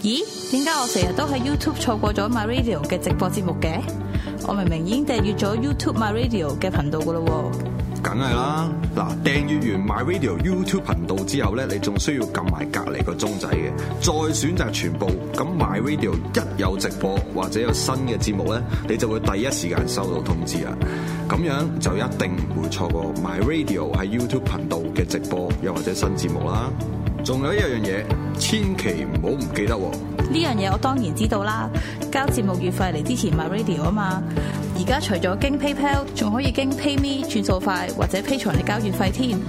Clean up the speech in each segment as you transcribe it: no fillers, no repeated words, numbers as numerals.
咦？點解我成日都喺 YouTube 錯過咗 My Radio 嘅直播節目嘅？我明明已經訂閱咗 YouTube My Radio 嘅頻道噶咯喎。 梗係啦，嗱，訂閱完 My Radio YouTube 頻道之後咧，你仲需要撳埋隔離個鐘仔嘅，再選擇全部。咁 My Radio 一有直播或者有新嘅節目咧，你就會第一時間收到通知啦。咁樣就一定唔會錯過 My Radio 喺 YouTube 頻道嘅直播又或者新節目啦。仲有一樣嘢，千祈唔好唔記得喎。 呢樣嘢我當然知道啦，交節目月費嚟支持 My Radio 啊嘛。而家除咗經 PayPal， 仲可以經 PayMe 轉數快或者 Patreon嚟交月費添。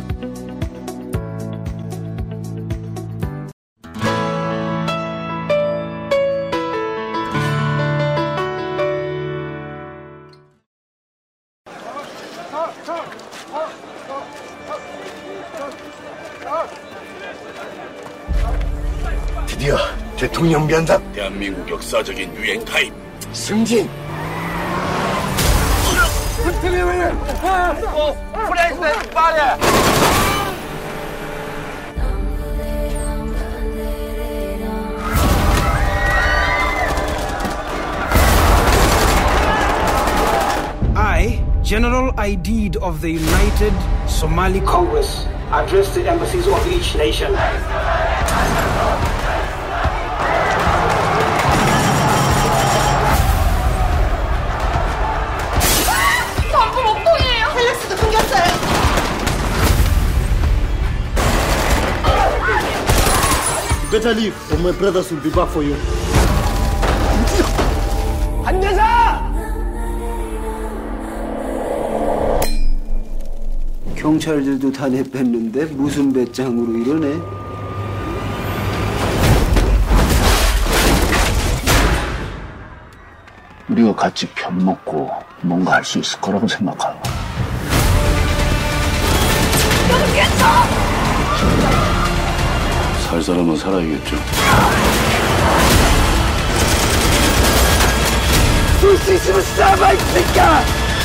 드디어 대통령 변상 대한민국 역사적인 유행 타임 승진 I, General Aidid of the United Somali Congress, address the embassies of each nation. Better leave or my brothers will be back for you. 안내사! 경찰들도 다 내뺐는데 무슨 배짱으로 이러네? 우리가 같이 편 먹고 뭔가 할 수 있을 거라고 생각하는 거야. 살 사람은 살아야겠죠. 쏠 수 있으면 쏴봐, 이 새끼야!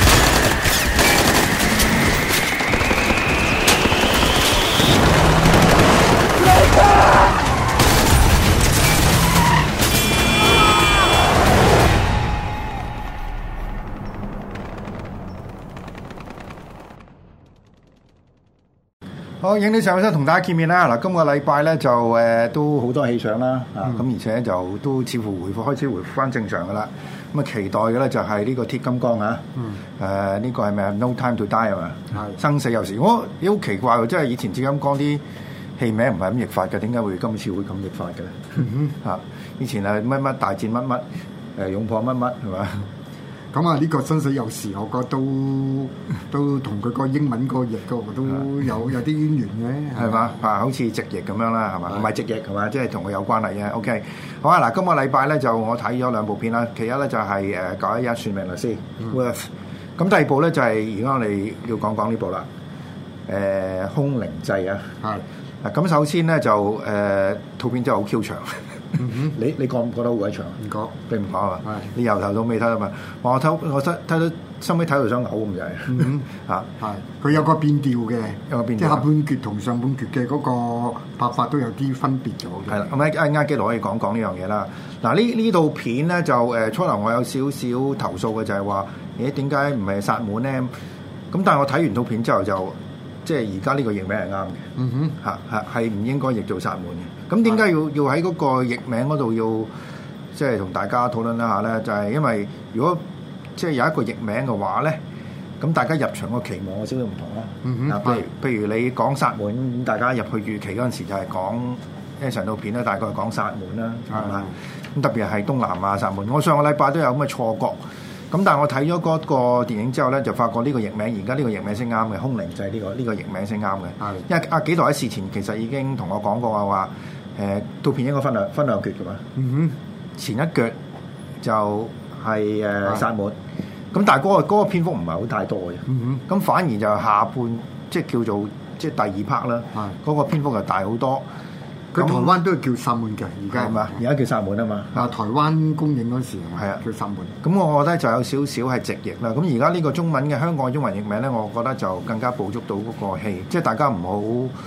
好，影啲相先同大家見面啦！嗱，今個禮拜咧就都好多戲上啦，咁而且就都似乎開始回復翻正常噶啦。咁啊，期待嘅咧就係呢個鐵金剛啊，呢個係咪啊 No Time to Die 係嘛？生死有時，我好奇怪喎，即係以前鐵金剛啲戲名唔係咁譯法嘅，點解會今次會咁譯法嘅咧？嚇，以前係乜乜大戰乜乜勇破乜乜係嘛？ 咁啊，呢個生死有時，我覺得都同佢個英文個譯個都有啲淵源嘅，係嘛？ 好似直譯咁樣啦，係嘛？唔係直譯係嘛？即係同佢有關係嘅。OK， 好啊！嗱，今個禮拜咧就我睇咗兩部片啦，其一咧就係911算命律師 Worth， 咁第二部咧就係而家我哋要講呢部啦，空靈祭啊。係嗱，咁首先咧就套片真係好 Q 長。你覺唔覺得好鬼長？唔覺，你唔覺啊？係你由頭到尾睇啊嘛！我睇到收尾睇到想嘔咁滯。嚇係佢有個變調嘅， 有個變調， 即係下半橛同上半橛嘅嗰個拍法都有啲分別咗嘅。 係啦，咁啱基佬可以講呢樣嘢啦。嗱呢套片咧就初頭我有少少投訴嘅就係話，點解唔係薩滿咧？咁但係我睇完套片之後就即係而家呢個譯名係啱嘅。係唔應該譯做薩滿嘅。咁點解要喺嗰個譯名嗰度要即係同大家討論一下咧？就係因為如果即係有一個譯名嘅話咧，咁大家入場個期望有少少唔同啦。譬如你講薩滿，大家入去預期嗰陣時就係講因為成套片咧，大概係講薩滿啦，係嘛？咁特別係東南亞薩滿。我上個禮拜都有咁嘅錯覺。咁但係我睇咗嗰個電影之後咧，就發覺呢個譯名而家呢個譯名先啱嘅，空靈祭呢個譯名先啱嘅。因為阿幾代喺事前其實已經同我講過話套片應該分兩橛㗎嘛。前一橛就係薩滿，咁但係嗰個篇幅唔係好太多嘅。咁反而就下半即係叫做即係第二 part 啦。嗰個篇幅就大好多。 佢台灣都係叫薩滿嘅，而家係嘛？ 而家叫薩滿啊嘛。 台灣公映嗰時係啊， 叫薩滿。 咁我覺得就有少少係直譯啦。咁而家呢個中文嘅香港中文譯名咧，我覺得就更加捕捉到嗰個戲，即係大家唔好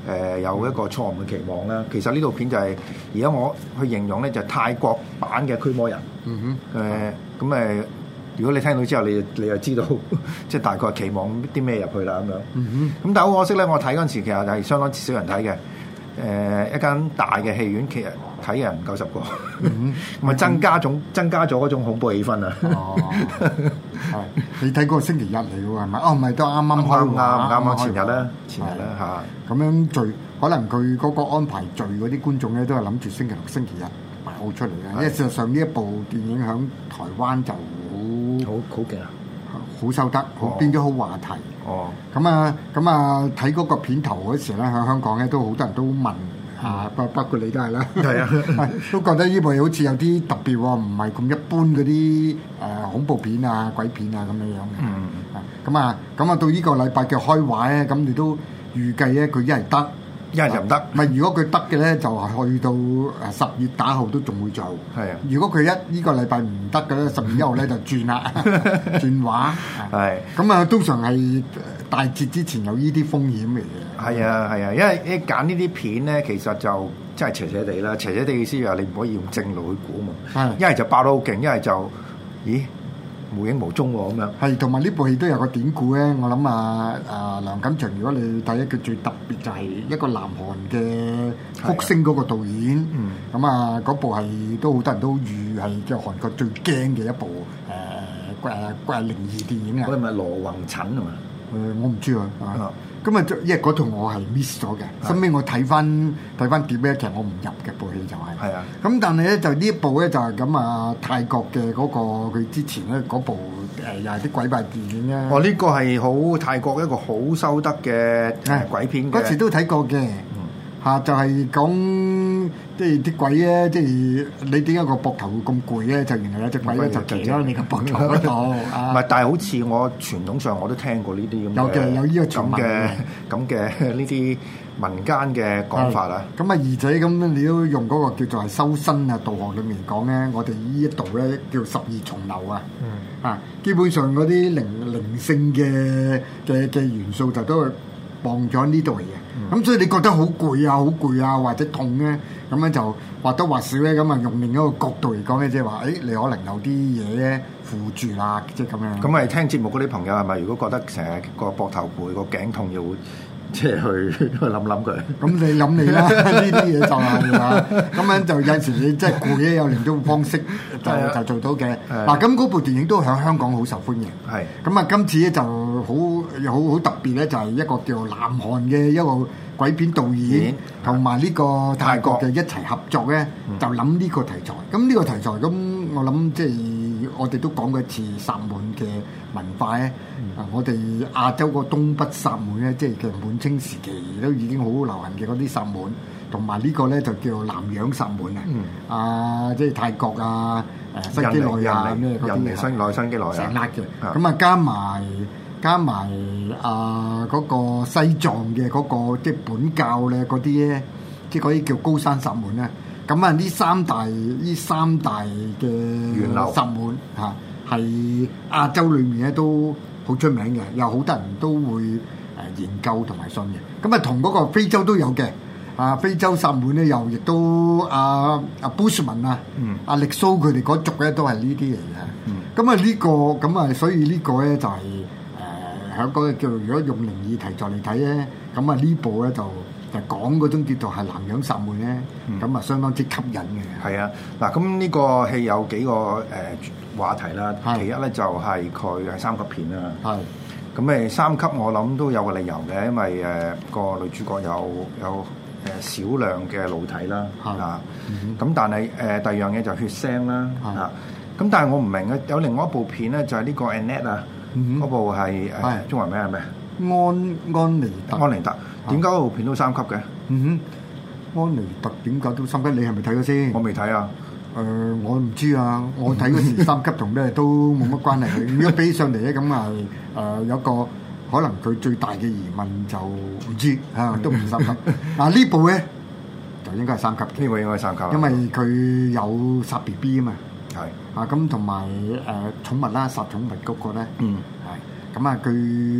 有一個錯誤嘅期望啦。其實呢套片就係而家我去形容咧，就係泰國版嘅驅魔人。咁如果你聽到之後，你就知道即係大概期望啲咩入去啦咁樣。咁但係好可惜咧，我睇嗰陣時其實係相當之少人睇嘅。一間大嘅戲院其實睇嘅人唔夠10個，咁啊增加咗嗰種恐怖氣氛啊！ 係你睇嗰個星期日嚟嘅喎，係咪？唔係都啱啱前日啦嚇。 咁樣聚，可能佢嗰個安排聚嗰啲觀眾咧，都係諗住星期六、星期日擺好出嚟嘅。因為事實上呢一部電影喺台灣就好勁啊！ 好收得，變咗好話題。咁啊睇嗰個片頭嗰時咧，喺香港咧都好多人都問包括你都係啦， 係啊， 都覺得呢部好似有啲特別喎，唔係咁一般嗰啲恐怖片啊、鬼片啊咁樣樣嘅。咁啊到呢個禮拜嘅開畫咧，咁你都預計咧佢一係得。 一係就唔得， 唔係如果佢得嘅咧，就係去到10月打後都仲會做。 係啊， 如果佢呢個禮拜唔得嘅咧，10月1號咧就轉啦，轉畫。 係咁啊，通常係大節之前有呢啲風險嚟嘅。 係啊，因為你揀呢啲片咧，其實就真係邪邪地啦。邪邪地嘅意思就係你唔可以用正路去估嘛。一係就爆得好勁，一係就無影無蹤喎咁樣。係，同埋呢部戲都有個典故咧。我諗梁錦祥，如果你睇佢最特別就係一個南韓嘅福星嗰個導演。咁嗰部係都好多人都預係即係韓國最驚嘅一部靈異電影啊。嗰係咪羅宏陳啊嘛？我唔知啊。咁因為嗰套我係 miss 咗嘅，後尾我睇翻碟咧，其實我唔入嘅部戲就係。係啊。咁但係咧就呢一部咧就係咁泰國嘅嗰個佢之前咧嗰部又係啲鬼怪電影咧。呢個係好泰國一個好收得嘅鬼片嘅。嗰時都睇過嘅。就係講即係啲鬼咧，即係你點解個膊頭會咁攰咧？就原來有隻鬼咧就騎咗你個膊頭嗰度。唔係，但係好似我傳統上我都聽過呢啲咁嘅有呢個咁嘅呢啲民間嘅講法啊。咁而且咁你都用嗰個叫做係修身啊道學裏面講咧，我哋呢一度咧叫12重樓啊。基本上嗰啲靈性嘅元素就都係放咗呢度嚟嘅。咁所以你覺得好攰啊，或者痛咧，咁樣就或多或少咧，咁啊用另一個角度嚟講咧，即係話，你可能有啲嘢咧附住啦，即係咁樣。咁咪聽節目嗰啲朋友係咪？如果覺得成日個膊頭攰、個頸痛，又會即係去諗佢。咁你諗你啦，呢啲嘢就係啦。咁樣就有陣時你即係攰咧，有另一種方式就做到嘅。嗱，咁嗰部電影都喺香港好受歡迎。係。咁啊，今次咧就好特別咧，就係一個叫南韓嘅一個鬼片導演同埋呢個泰國嘅一齊合作咧，就諗呢個題材。咁呢個題材咁，我諗即係我哋都講過一次薩滿嘅文化咧。我哋亞洲個東北薩滿咧，即係其實滿清時期都已經好流行嘅嗰啲薩滿，同埋呢個咧就叫南洋薩滿啊。即係泰國啊、新幾內亞咩嗰啲嘅，新幾內亞成粒嘅。咁啊加埋嗰個西藏嘅嗰個即係本教咧嗰啲咧，即係嗰啲叫高山薩滿咧。咁啊呢三大嘅源流薩滿嚇，係亞洲裏面咧都好出名嘅，有好多人都會研究同埋信嘅。咁啊同嗰個非洲都有嘅。非洲薩滿咧又亦都阿 Bushman 阿力蘇佢哋嗰族咧都係呢啲嚟嘅。咁啊呢個咁啊，所以呢個咧就係喺嗰個叫做如果用靈異題材嚟睇咧，咁啊呢部咧就講嗰種叫做係南洋薩滿咧，咁啊相當之吸引嘅。係啊，嗱咁呢個戲有幾個話題啦。其一咧就係佢係3級片啦。係。咁3級我諗都有個理由嘅，因為個女主角有少量嘅露體啦。咁但係第二樣嘢就血腥啦。咁但係我唔明嘅，有另外一部片咧就係呢個 Annette 啊。嗰部係中文名係咩？安妮特。點解嗰部片都3級嘅？安妮特點解都3級？你係咪睇咗先？我未睇啊。我唔知啊。我睇嗰時3級同咩都冇乜關係。如果比上嚟咧，咁有個可能佢最大嘅疑問就唔知都唔3級。呢部咧就應該係3級。呢部應該係3級。因為佢有殺 BB 啊嘛。係咁同埋寵物啦，殺寵物嗰個咧，係咁佢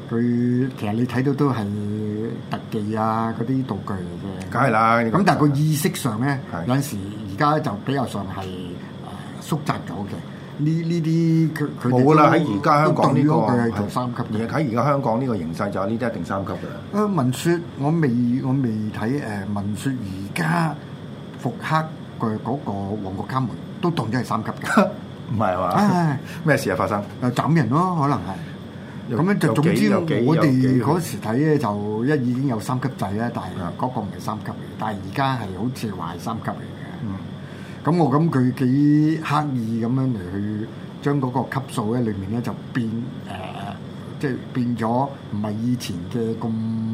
佢其實你睇到都係特技啊嗰啲道具嚟嘅。 梗係啦。 咁但係個意識上咧， 係有陣時而家就比較上係縮窄咗嘅。呢啲佢冇啦，喺而家香港呢個佢係做三級嘅。 喺而家香港呢個形勢就呢啲一定三級嘅啦。 文説我未睇文説而家復刻嘅嗰個旺角卡門都當咗係三級嘅。 唔係嘛？咩事啊發生？ 斬人咯，可能係。咁樣就總之我哋嗰時睇咧就已經有三級制啦，但係嗰個唔係三級嚟，但係而家係好似話係三級嚟嘅。咁我諗佢幾刻意咁樣嚟去將嗰個級數咧裏面咧就變即係變咗唔係以前嘅咁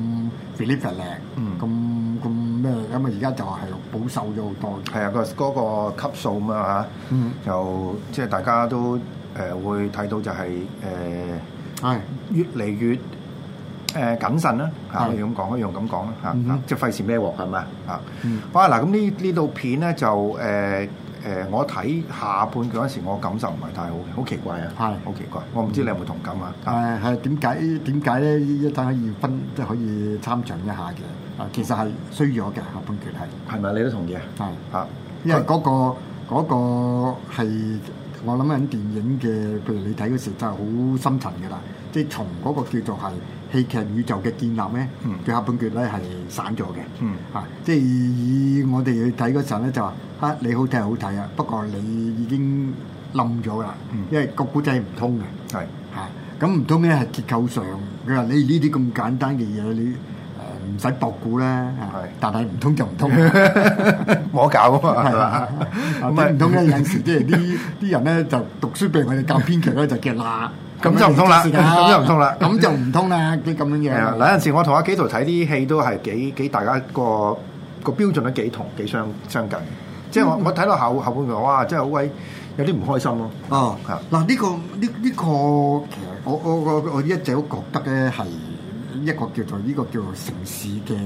filigree 咁咩咁啊！而家就係保守咗好多。係啊， 嗰個級數咁啊嚇，就即係大家都會睇到就係係越嚟越謹慎啦嚇，可以咁講，可以用咁講啦嚇，即係費事孭鑊係咪啊？好啊嗱，咁呢套片咧就我睇下半句嗰時，我感受唔係太好嘅，好奇怪啊，係好奇怪，我唔知你有冇同感啊？ 係點解咧？一陣可以分即係可以參詳一下嘅。其實係衰咗嘅下半段係咪？你都同意啊？係嚇， 因為嗰個係我諗緊電影嘅，譬如你睇嗰時真係好深層嘅啦。即係從嗰個叫做係戲劇宇宙嘅建立咧，佢下半段咧係散咗嘅。即係以我哋去睇嗰陣咧就話你好睇係好睇啊，不過你已經冧咗啦，因為個古仔唔通嘅。係咁唔通咧係結構上，佢話你呢啲咁簡單嘅嘢你唔使博估啦，但係唔通就唔通， 冇得搞啊嘛，係嘛？ 咁唔通咧有陣時即係啲人咧就讀書俾我哋教編劇咧就叫嗱， 咁就唔通啦，咁就唔通啦， 咁就唔通啦，啲咁樣嘢。 嗱有陣時我同阿紀陶睇啲戲都係幾大家個標準都幾相近，即係我睇到後半段哇，真係好鬼有啲唔開心咯。 哦，嗱呢個其實我一直都覺得咧係。一個叫做城市嘅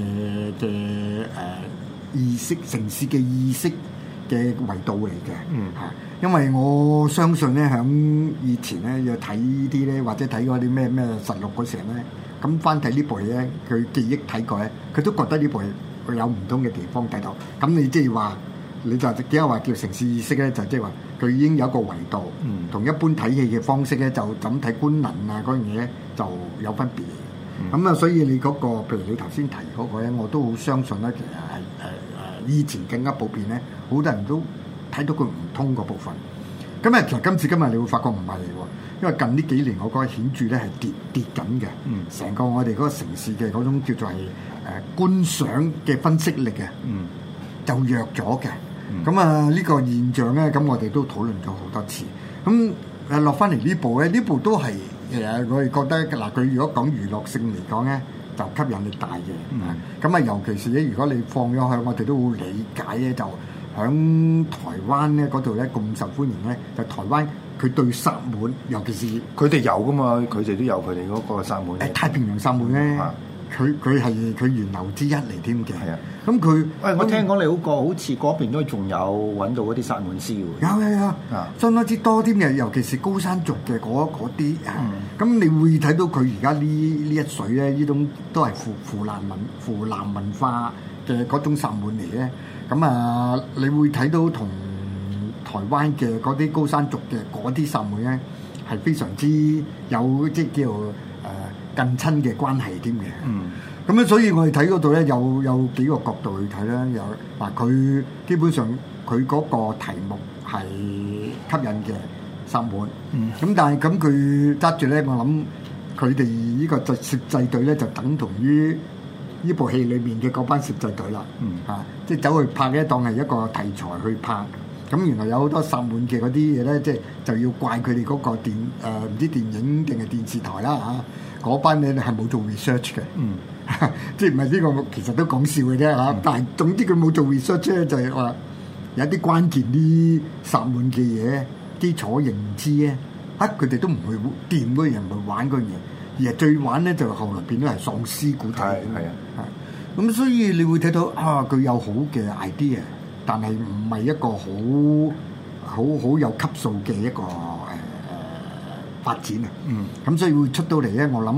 意識，城市嘅意識嘅維度嚟嘅。因為我相信咧，響以前咧要睇啲咧，或者睇嗰啲咩實錄嗰時咧，咁翻睇呢部嘢咧，佢記憶睇過咧，佢都覺得呢部嘢有唔同嘅地方睇到。咁你即係話，你就點解話叫城市意識咧？就即係話佢已經有一個維度，同一般睇戲嘅方式咧，就咁睇官能啊嗰樣嘢咧就有分別。咁所以你嗰個，譬如你頭先提嗰個咧，我都好相信咧，其實係以前更加普遍咧，好多人都睇到佢唔通嗰部分。咁其實今時今日你會發覺唔係喎，因為近呢幾年我覺得顯著咧係跌緊嘅。成個我哋嗰個城市嘅嗰種叫做係觀賞嘅分析力嘅，就弱咗嘅。咁呢個現象咧，咁我哋都討論咗好多次。咁落翻嚟呢部咧，呢部都係。其實我哋覺得嗱，佢如果講娛樂性嚟講咧，就吸引力大嘅。咁尤其是咧，如果你放咗去，我哋都會理解咧，就響台灣咧嗰度咧咁受歡迎咧，就台灣佢對薩滿，尤其是佢哋有噶嘛，佢哋都有佢哋嗰個薩滿。 太平洋薩滿咧，佢係佢源流之一嚟添嘅。係啊，咁佢我聽講你好似嗰邊都仲有揾到嗰啲薩滿師喎。 有相當之多添嘅，尤其是高山族嘅嗰啲咁你會睇到佢而家呢一水咧，呢種都係湖南文化嘅嗰種薩滿嚟咧。咁你會睇到同台灣嘅嗰啲高山族嘅嗰啲薩滿咧，係非常之有即係叫近親嘅關係添嘅。咁咧，所以我哋睇嗰度咧有幾個角度去睇啦。有嗱，佢基本上佢嗰個題目係吸引嘅薩滿。咁但係咁佢揸住咧，我諗佢哋呢個攝製隊咧就等同於呢部戲裏面嘅嗰班攝製隊啦。即係走去拍咧，當係一個題材去拍。咁原來有好多薩滿嘅嗰啲嘢咧，即係就要怪佢哋嗰個唔知電影定係電視台啦嚇。嗰班咧係冇做 research 嘅。即係唔係呢個其實都講笑嘅啫嚇，但係總之佢冇做 research 咧，就係話有啲關鍵啲薩滿嘅嘢基礎認知咧，佢哋都唔會掂嗰樣，唔會玩嗰樣嘢，而係最玩咧就後來變咗係喪屍古仔。咁所以你會睇到佢有好嘅 idea，但係唔係一個好有級數嘅一個發展啊。咁所以會出到嚟咧，我諗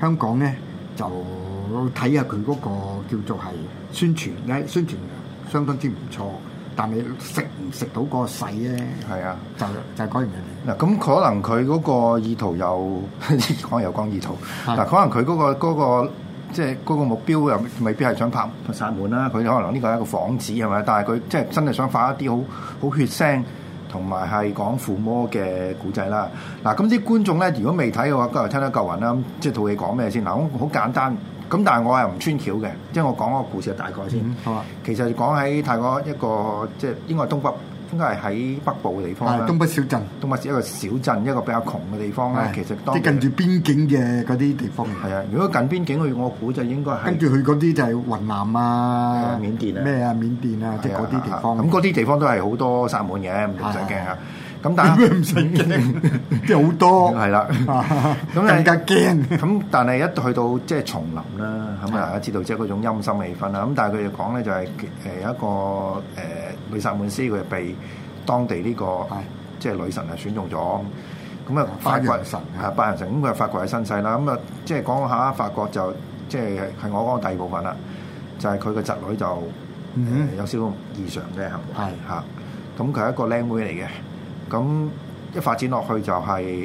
香港咧就睇下佢嗰個叫做係宣傳咧，宣傳相當之唔錯。但係食唔食到個勢咧？ 係啊， 就係嗰樣嘢。 嗱，咁可能佢嗰個意圖又講意圖。嗱，可能佢嗰個即係嗰個目標又未必係想拍殺門啦。佢可能呢個係一個幌子係咪？但係佢即係真係想發一啲好血腥同埋係講附魔嘅古仔啦。嗱，咁啲觀眾咧，如果未睇嘅話，今日聽得夠暈啦。即係套戲講咩先？嗱，好簡單。咁但係我係唔穿橋嘅，即係我講個故事嘅大概先。 好啊。 其實講喺泰國一個即係應該係東北，應該係喺北部嘅地方啦。 東北小鎮。東北一個小鎮，一個比較窮嘅地方咧。其實即係近住邊境嘅嗰啲地方。 係啊，如果近邊境，我估就應該係。 跟住佢嗰啲就係雲南啊、 緬甸啊、 咩啊、緬甸啊，即係嗰啲地方。 咁嗰啲地方都係好多薩滿嘅，唔使驚啊。咁但係唔使驚，即係好多係啦，咁更加驚。 咁但係一去到即係叢林啦，咁大家知道即係嗰種陰森氣氛啦。咁但係佢哋講咧就係有一個女薩滿師，佢被當地呢個即係女神係選中咗。咁啊，發掘神白羊神，咁佢發掘係身世啦。咁啊，即係講下發覺就即係我講嘅第二部分啦，就係佢個侄女就有少少異常嘅行為嚇。咁佢係一個靚妹嚟嘅。咁一發展落去就係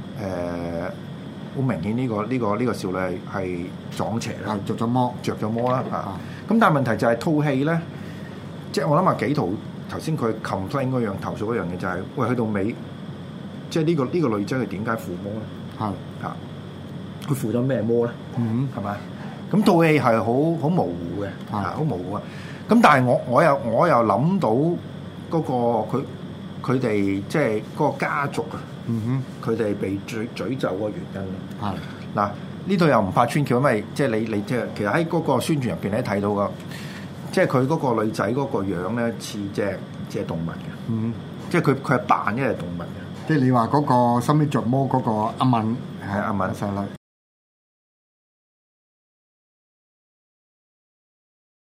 好明顯呢個少女係撞邪啦， 着咗魔啦嚇。咁但係問題就係套戲咧，即係我諗下幾圖頭先佢 complain 嗰樣投訴嗰樣嘢就係、是，喂去到尾，即係呢個女仔佢點解附魔咧？係嚇，佢附咗咩魔咧？係咪？咁套戲係好模糊嘅，好模糊啊！咁但係我又諗到嗰個佢哋即係嗰個家族啊，佢哋被詛咒個原因。係嗱，呢度又唔怕穿橋，因為即係你即係其實喺嗰個宣傳入邊咧睇到噶，即係佢嗰個女仔嗰個樣咧似隻動物嘅。即係佢係扮一隻動物嘅。 即係你話嗰個心尾着魔嗰個阿敏， 係阿敏細女